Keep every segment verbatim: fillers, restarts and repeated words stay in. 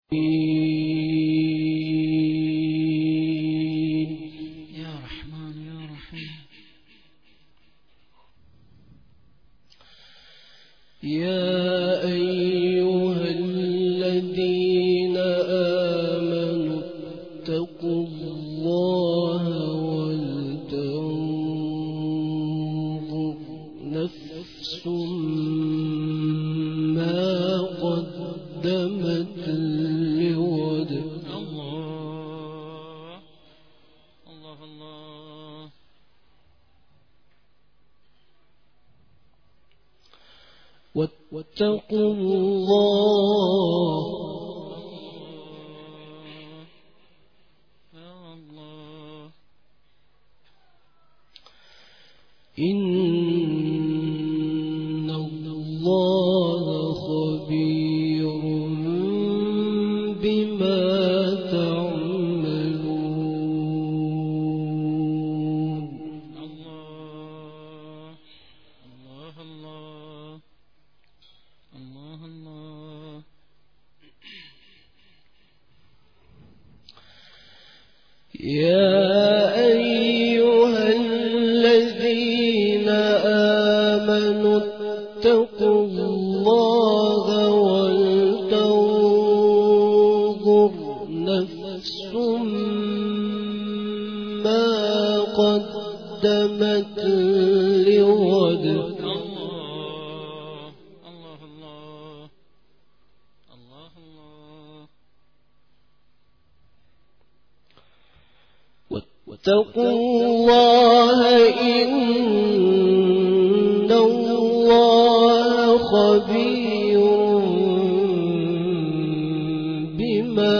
يا رحمن يا رحيم يا أيها الذين آمنوا اتقوا الله ولتنظر نفس ما قدمت لغد. الله الله الله واتقوا الله يا الله إن الله خبير بما تعملون. الله الله الله الله الله يا أيها الذين آمنوا اتقوا الله ولتنظر نفس ما قدمت لغد. الله الله الله الله الله واتقوا الله إن الله خبير بما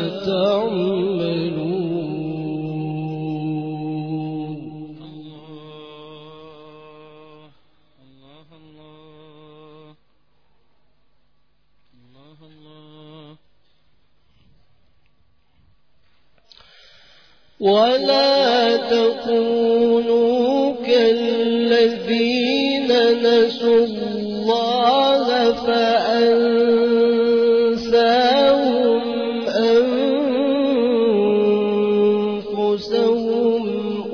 تعملون. الله الله الله الله ولا تكونوا كالذين نسوا الله فأنساهم أنفسهم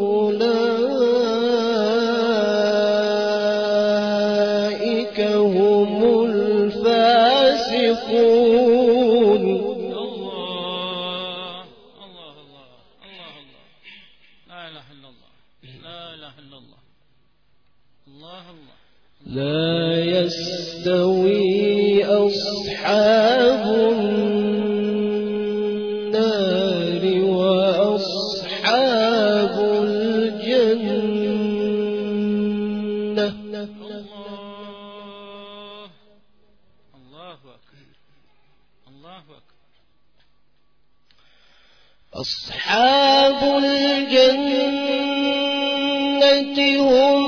أولئك هم الفاسقون. الله الله الله الله لا إله إلا الله لا إله إلا الله الله الله لا يستوي أصحاب النار وأصحاب الجنة. الله الله أكبر الله أكبر أصحاب الجنة هم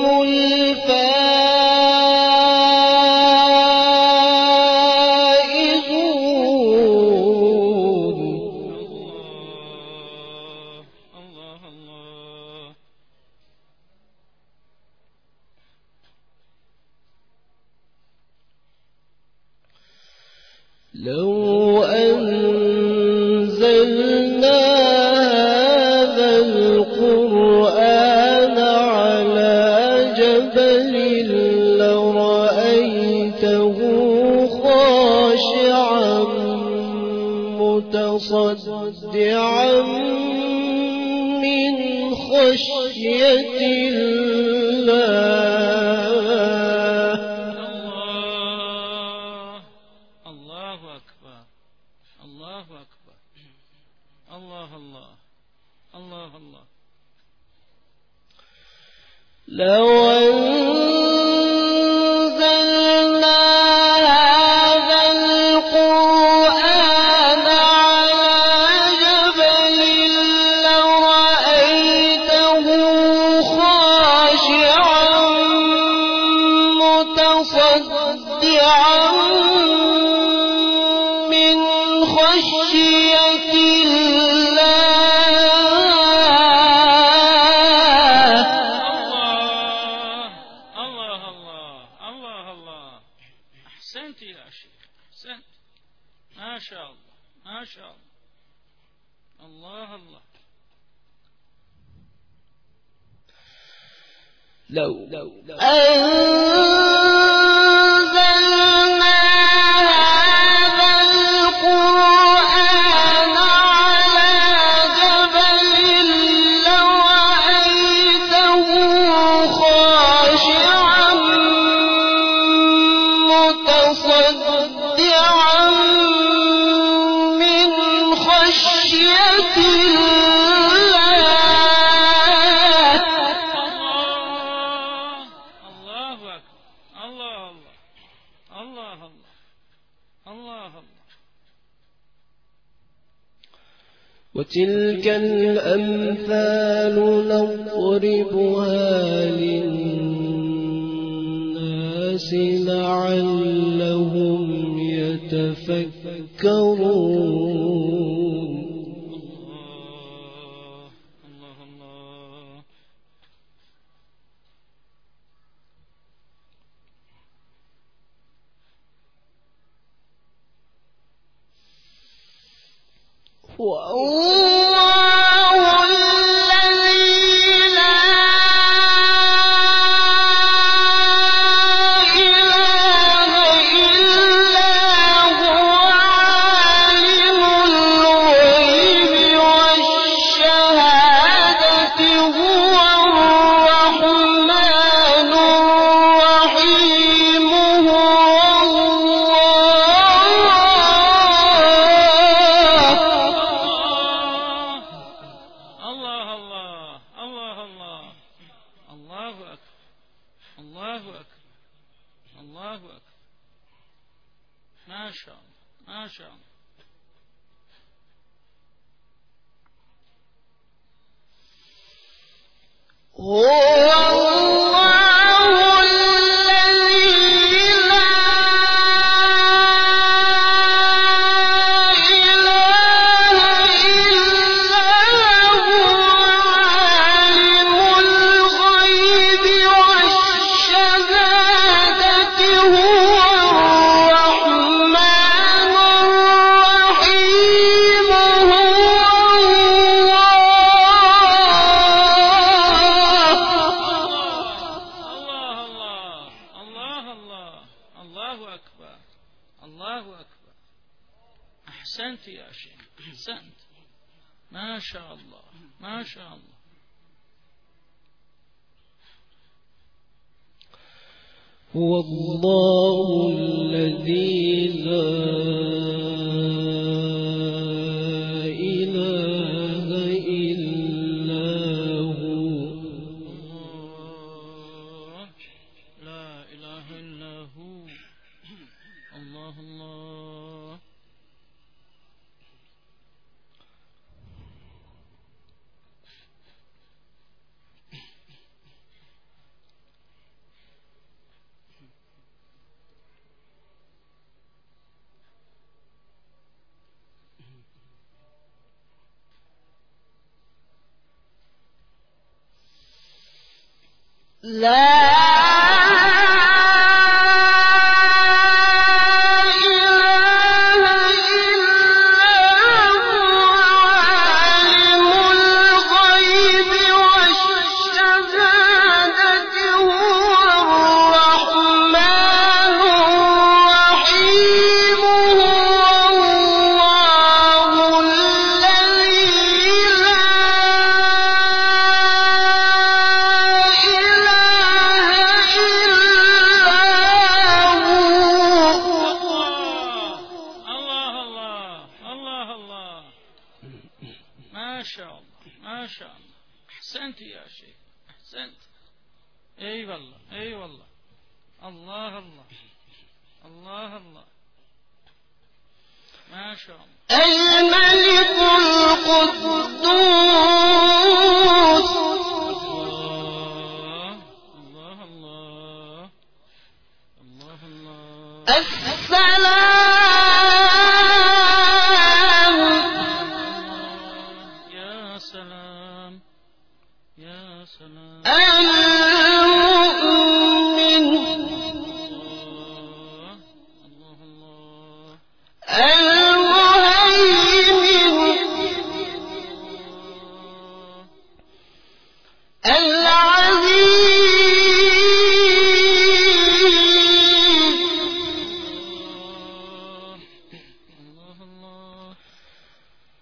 الفائزون. الله الله لو أنزلنا هذا القرآن على جبل لرأيته خاشعا متصدعا من خشية الله. الله أكبر الله أكبر الله الله الله الله لو أنزلنا هذا القرآن على جبل لرأيته خاشعا متصدعا من خشية الله. الله الله الله الله أحسنت يا شيخ أحسنت ما شاء الله ما شاء الله. الله الله. لو أنزلنا هذا القرآن على جبل لرأيته خاشعا متصدعا من خشية وتلك الأمثال نضربها للناس لعلهم يتفكرون. الله الله الله. والله الذي لا إله إلا هو عالم الغيب والشهادة هو الرحمن الرحيم هو ما شاء الله ما شاء الله. هو الله الذي لا إله إلا هو عالم الغيب والشهادة هو الرحمن الرحيم هو أحسنت يا شيخ أحسنت. ما شاء الله ما شاء الله. هو الله الذي لا إله إلا هو. الله لا إله إلا هو. الله الله. لا ما شاء الله ما شاء الله. أحسنت يا شيخ أحسنت. أي والله أي والله. الله الله الله الله. ما شاء الله. الملك القدوس الله الله الله الله. السلام يا سلام يا سلام. المؤمن الله الله الله. المهيمن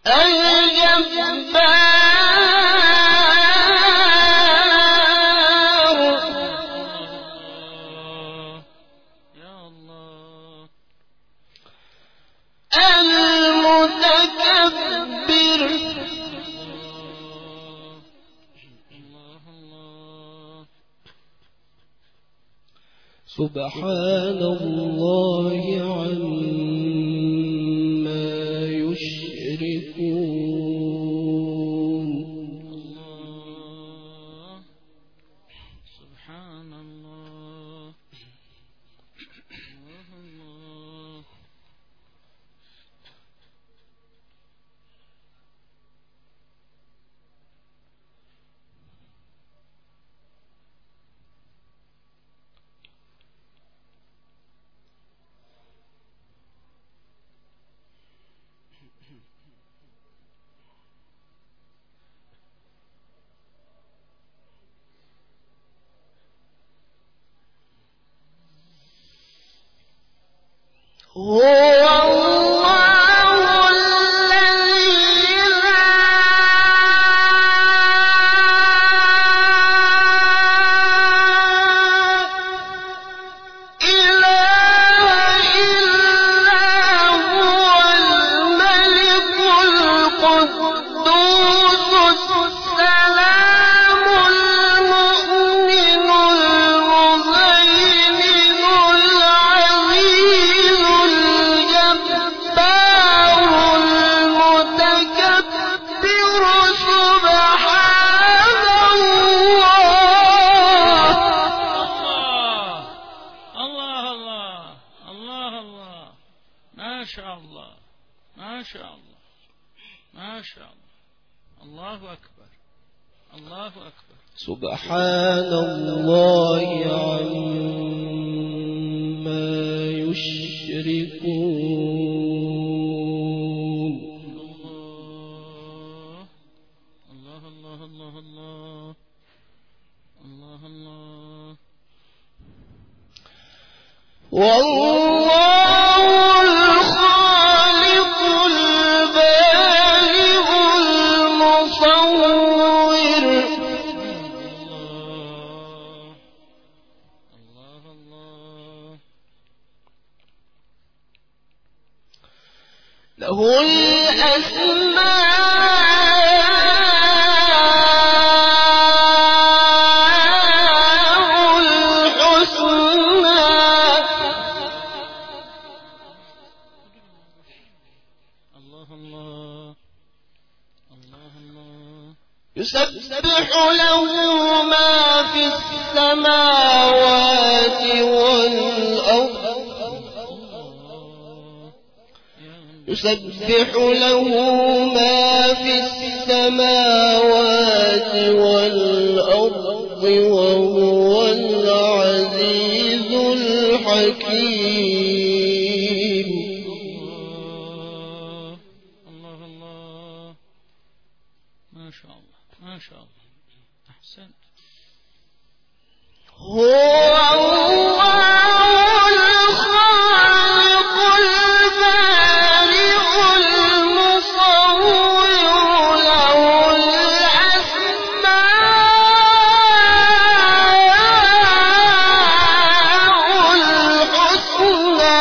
سبحان الله عما يشركون. الله سبحان الله الله الله. هو الله الذي لا إله إلا هو الملك القدوس السلام المؤمن المهيمن العزيز الجبار المتكبر سبحان الله. الله الله الله الله. ما شاء الله ما شاء الله ما شاء الله. الله أكبر الله أكبر. سبحان الله عما يشركون. الله الله الله الله الله الله. والله الخالق البارئ المصور. الله الله. له الأسماء الحسنى. الله الله الله الله. يسبح له ما في السماوات والأرض. يسبح له ما في السماوات والأرض وهو العزيز الحكيم. الله الله. ما شاء الله ما شاء الله. أحسنت. هو الله الخالق البارئ المصور. له الأسماء الحسنى.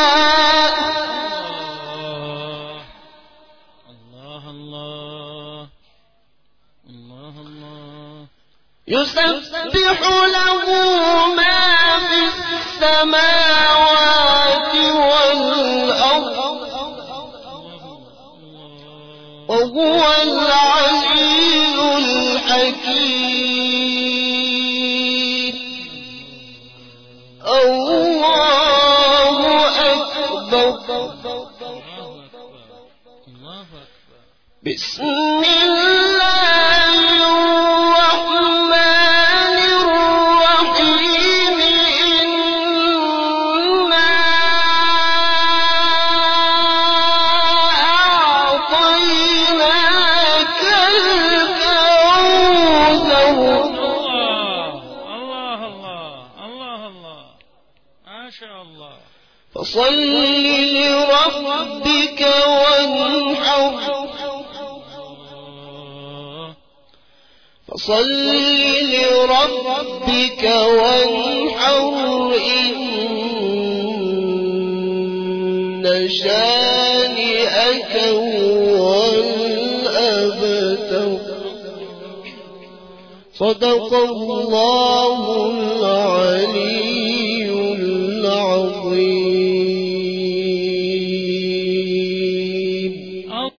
الله الله الله الله. يسبح له ما في السماوات والأرض وهو العزيز الحكيم. الله أكبر. الله أكبر. بسم الله الرحمن الرحيم. إنا أعطيناك الكوثر. الله الله الله الله. ما شاء الله. فصل لربك وانحر. فصل لربك وانحر إن شانئك هو الأبتر. صدق الله العليم.